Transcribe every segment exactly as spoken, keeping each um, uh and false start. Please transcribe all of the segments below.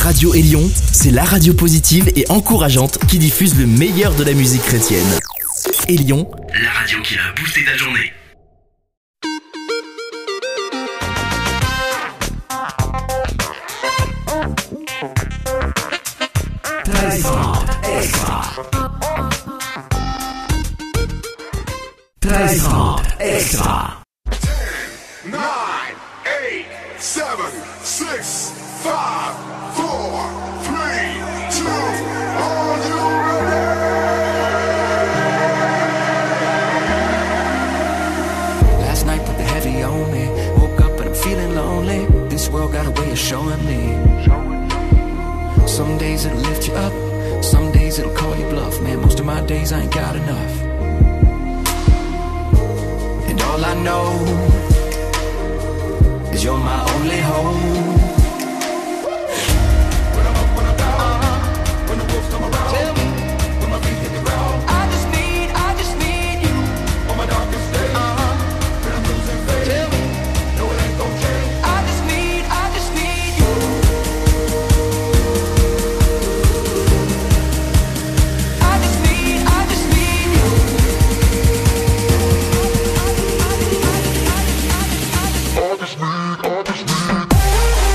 Radio Élion, c'est la radio positive et encourageante qui diffuse le meilleur de la musique chrétienne. Élion, la radio qui a boosté ta journée. treize trente extra. treize trente extra. nine, eight, seven, six, five, four, three, two, are you ready? Last night put the heavy on me. Woke up and I'm feeling lonely. This world got a way of showing me. Some days it'll lift you up, some days it'll call you bluff. Man, most of my days I ain't got enough. And all I know is you're my only hope. When I'm up, when I'm down, when the wolves come around, Tell me, when my feet hit the ground, I just need, I just need you. on my darkest day, Uh-huh. when I'm losing faith, Tell me, no it ain't gon' change. I just need, I just need you. I just need, I just need you. I just need, I just need.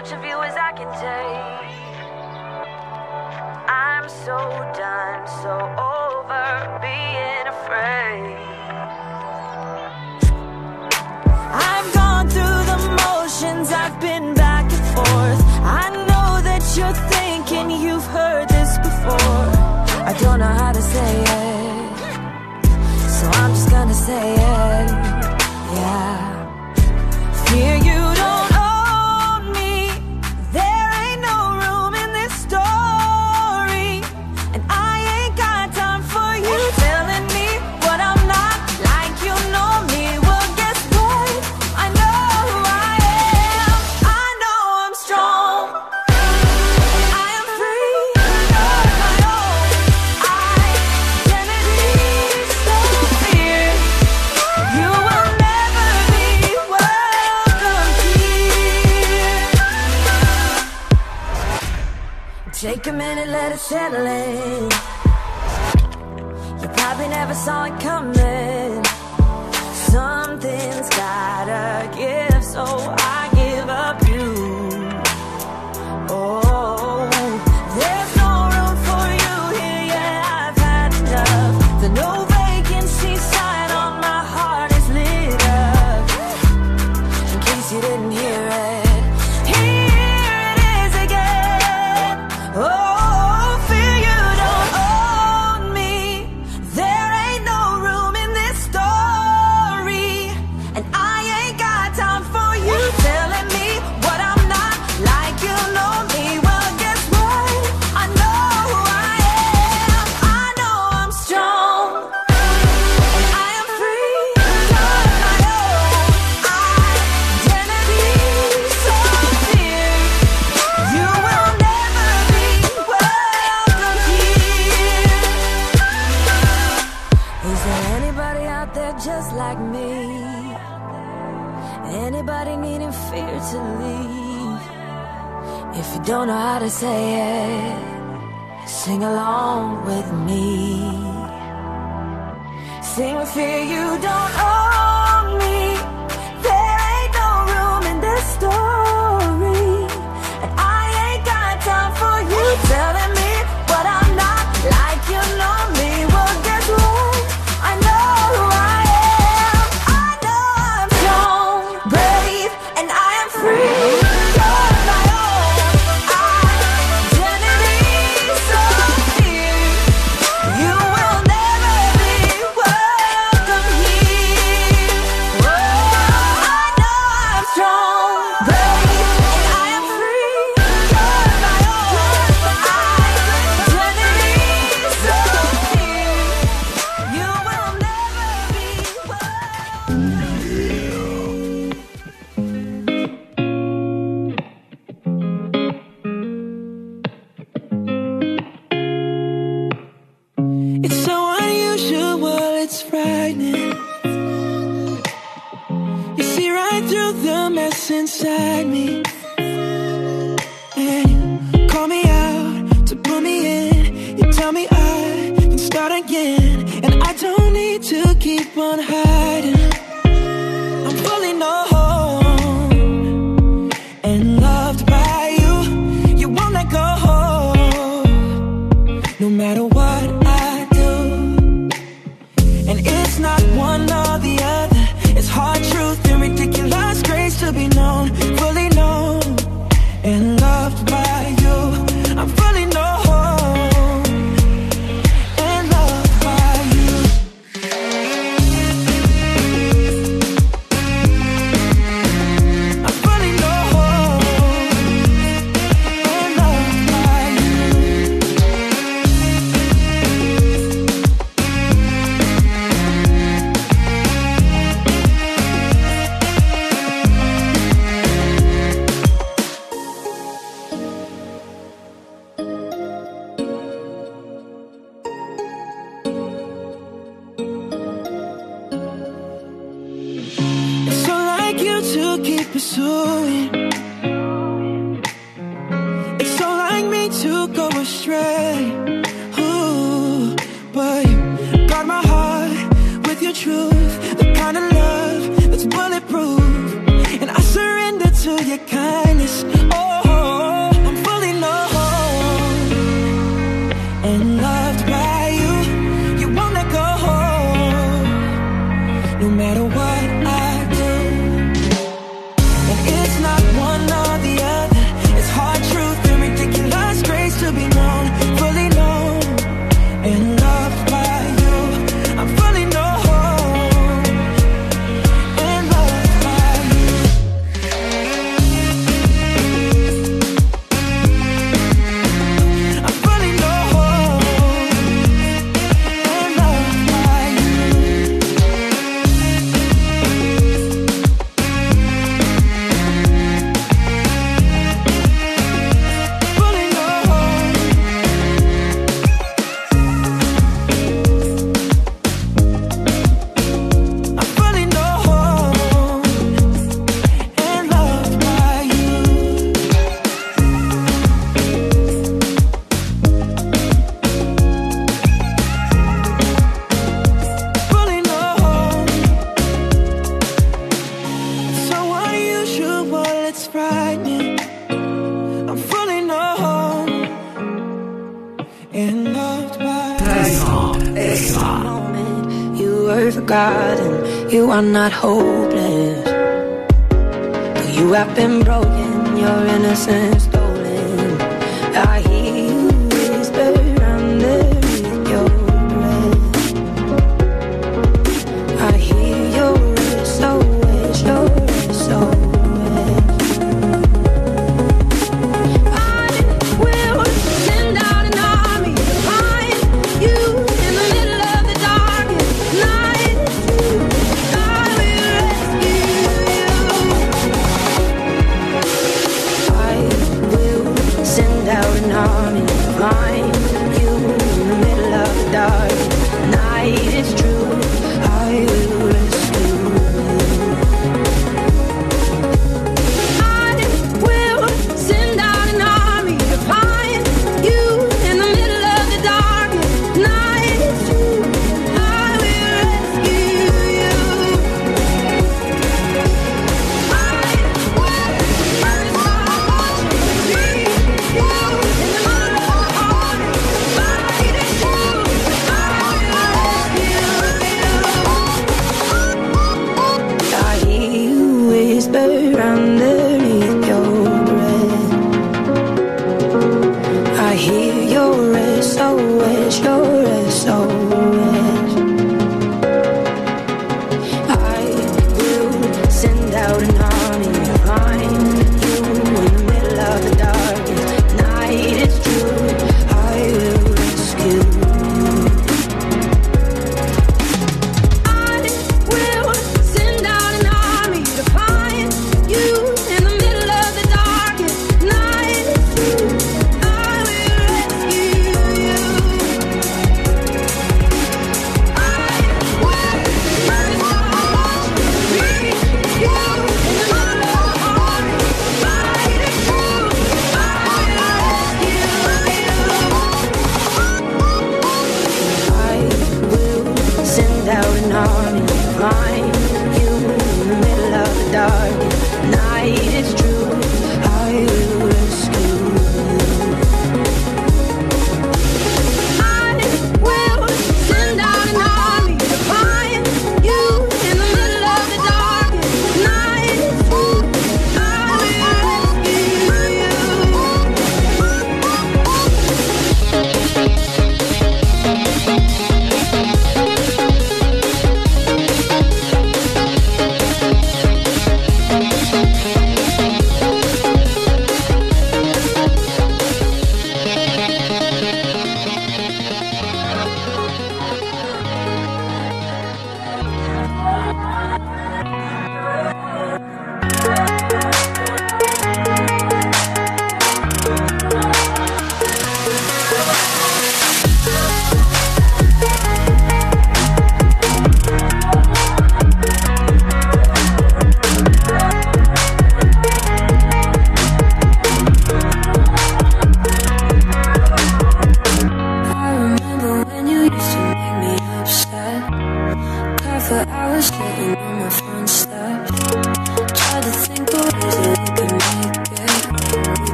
much of you as I can take. I'm so done, so over being afraid. I've gone through the motions, I've been back and forth. I know that you're thinking you've heard this before. I don't know how to say it, so I'm just gonna say it, yeah. Fear you don't own me, there ain't no room in this story. And I ain't got time for you telling me what I'm not, like you know me. Well, guess what? I know who I am. I know I'm strong, I am free of my own identity. So fear you will never be welcome here. Take a minute, let it settle in. You probably never saw it coming. Something's gotta give, so I give up you. Oh, there's no room for you here, yeah, I've had enough. The no vacancy sign on my heart is lit up. In case you didn't hear it, here it is again. Oh, fear you don't own me, there ain't no room in this story. And I ain't got time for you telling me what I'm not, like you know me. Well, guess what? I know who I am. I know I'm strong, and I am free of my own identity. So fear you will never be welcome here. Is there anybody out there just like me? Anybody needing fear to leave? If you don't know how to say it, sing along with me. Sing with fear you don't own me, there ain't no room in this story. And I ain't got time for you telling me what I'm not, like you know me. Well, guess what? I know who I am. I know I'm strong, brave, and I am free of my own identity. So fear you will never be welcome here. Whoa, I know I'm strong, brave, and I am free of my own identity. So fear you will never be welcome. It's so unusual, it's frightening. You see right through the mess inside me. And you call me out to pull me in. You tell me I can start again. And I don't need to keep on hiding. I'm fully known and loved by you. You won't let go, no matter what I do. And it's not one or the other, it's hard truth and ridiculous grace to be known, fully known and loved by you. I'm fully known and loved by you. I'm fully known and loved by you. It's so like you to keep pursuing. It's so like me to go astray. Ooh, but you guard my heart with your truth, the kind of love that's bulletproof. And I surrender to your kindness. Oh, it's frightening. I'm fully known and loved by This moment you were forgotten. You are not hopeless. Though you have been broken, your innocence stolen. I hear you whisper underneath your breath. I hear your S O S, your S O S. I will send out an army to find you in the middle of the darkest night. I will rescue you. I will send out an army to find you in the middle of the darkest night. It's true, I will rescue you. I will send out an army to find you in the middle of the darkest night. It's true, I will rescue you. I will, I will watch you in the middle of the hardest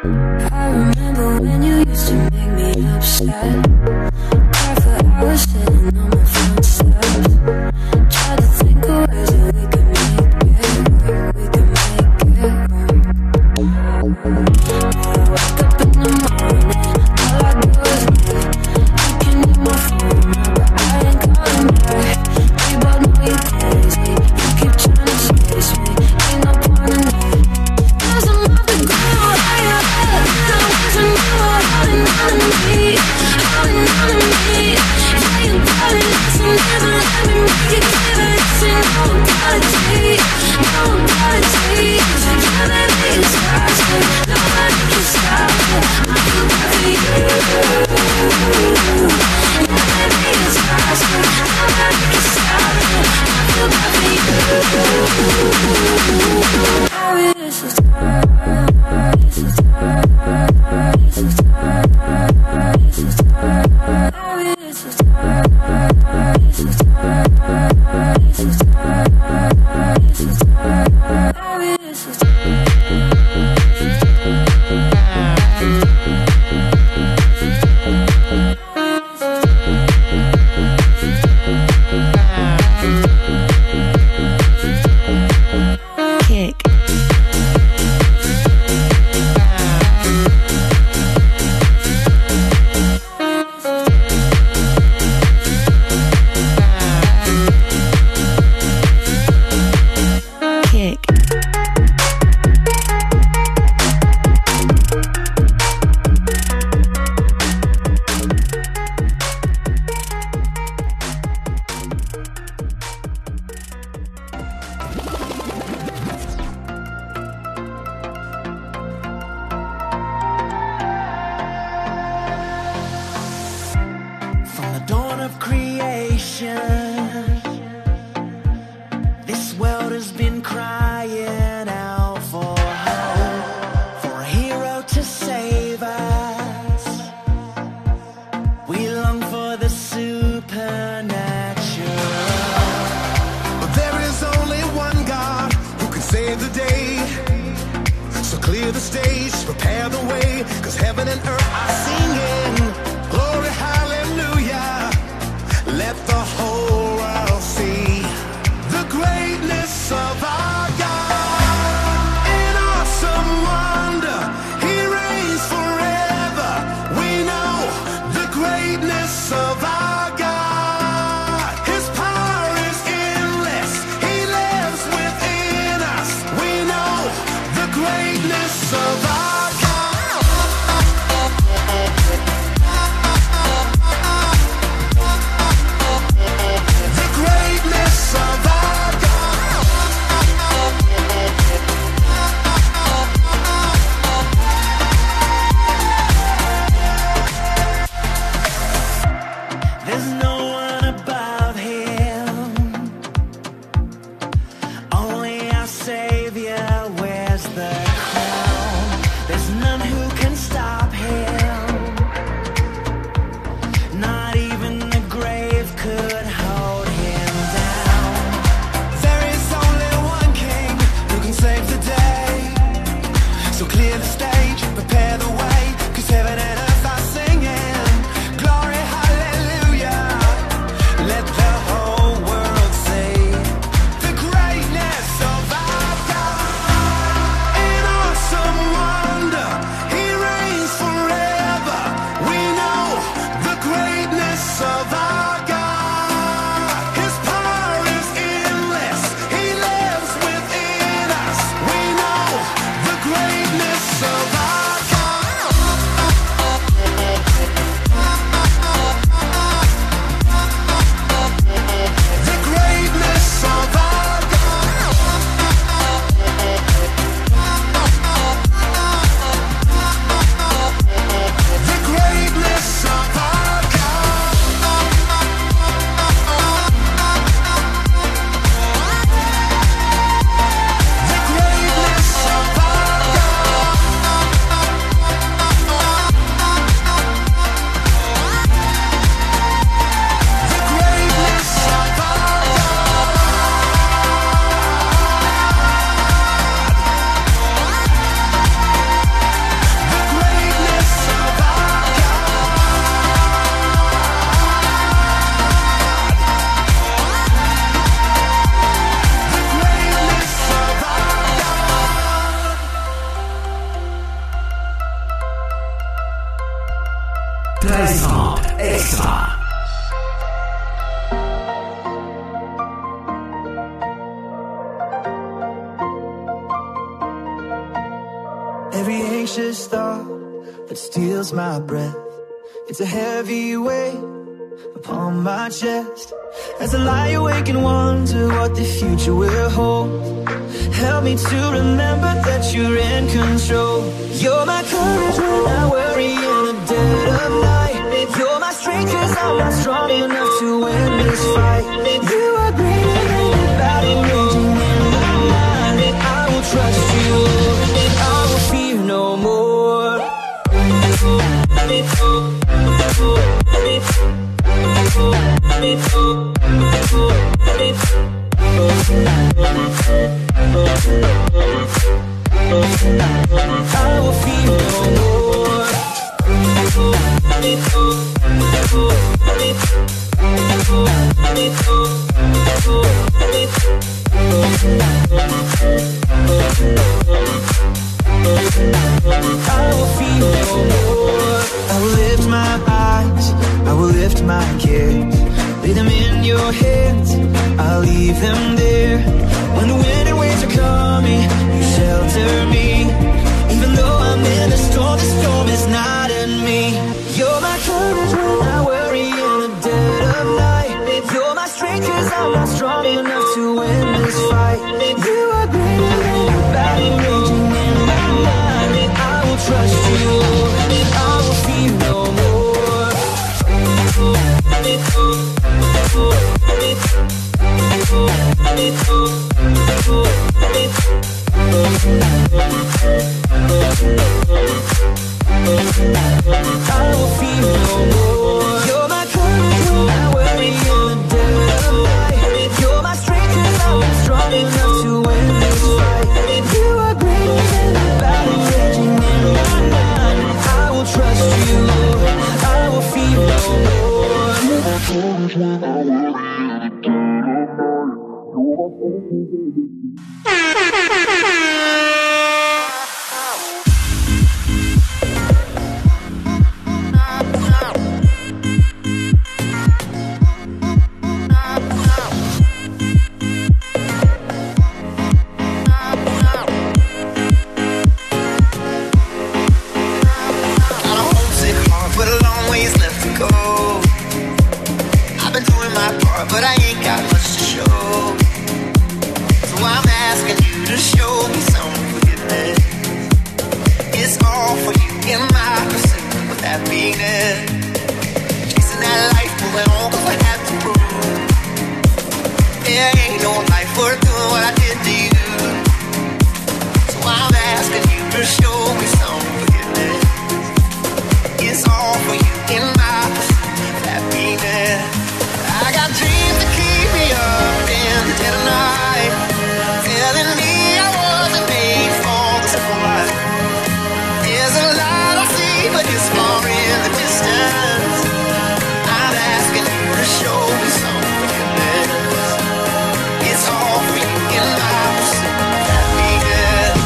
I remember when you used to make me upset. Cried for hours sitting on my front steps. Tried to think of ways that we could make it work. We could make it work. I wake up in the morning, all I do is wait. You can hit my phone now, but I ain't calling back. We both know you crazy. You keep trying to chase me. Ain't no point in that. Cause I'm off the ground, higher up. I want to know what holding on to me, holding on to me. Yeah, you got it, listen, never let me make it clear. Listen, no apology, no apology. Yeah, baby, it's awesome. Nobody can stop it. I feel bad for you. Yeah, baby, it's awesome. Nobody can stop it. I feel bad for you. How it is so tired. It's so tired. It's so tired. It's so tired. How it is so tired. It's so tired. It's so tired. It's so tired. How it is so tired. Kick. Kick. From the dawn of creation, this world has been crying out for hope, for a hero to save us. We long for the supernatural. But there is only one God who can save the day. So clear the stage, prepare the way, cause heaven and earth are singing. Glory, hallelujah. Let the whole world see the greatness of our God. In awesome wonder, He reigns forever. We know the greatness of our God. His power is endless. He lives within us. We know the greatness of our God. The greatness of our God. There's no one above Him. Only our Savior wears the crown. There's none who can stop Him. Not even the grave could hold Him down. There is only one King who can save the day. So clear the stage, prepare the way, cause heaven and earth are singing. Glory, hallelujah. Let the whole world see the greatness of our God. In awesome wonder, He reigns forever. Extra, extra. Every anxious thought that steals my breath, it's a heavy weight upon my chest. As I lie awake and wonder what the future will hold, help me to remember that you're in control. You're my courage when I worry in the dead of night. You're my strength cause I'm not strong enough to win this fight. You are greater than the battle raging in my mind. I will trust you, I will fear no more. I will fear no more. I will fear no more. I will lift my eyes, I will lift my cares, lay them in your hands, I'll leave them there. When the wind and waves are coming, you shelter me. Even though I'm in a storm, the storm is not in me. You're my courage when I worry in the dead of night. You're my strength cause I'm not strong enough to win this fight. You are greater than the battle raging in my mind. I will trust you, I will fear no more. I will fear no more. You're my courage when I worry in the dead of night. You're my strength cause I'm not strong enough to win this fight. You are greater than the battle raging in my mind. I will trust you, I will fear no more. You're my courage when I worry in the dead but I ain't got much to show. So I'm asking you to show me some forgiveness. It's all for you in my pursuit of happiness. Chasing that life, moving on cause I have to prove there ain't no life worth doing what I did to you. So I'm asking you to show me some forgiveness. It's all for you in my pursuit of happiness. I got dreams that keep me up in the dead of night, telling me I wasn't made for the simple life. There's a light I see, but it's far in the distance. I'm asking you to show me some forgiveness. It's all for you in my pursuit of happiness.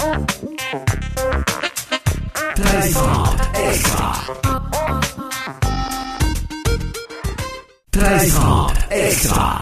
treize trente extra. treize trente extra.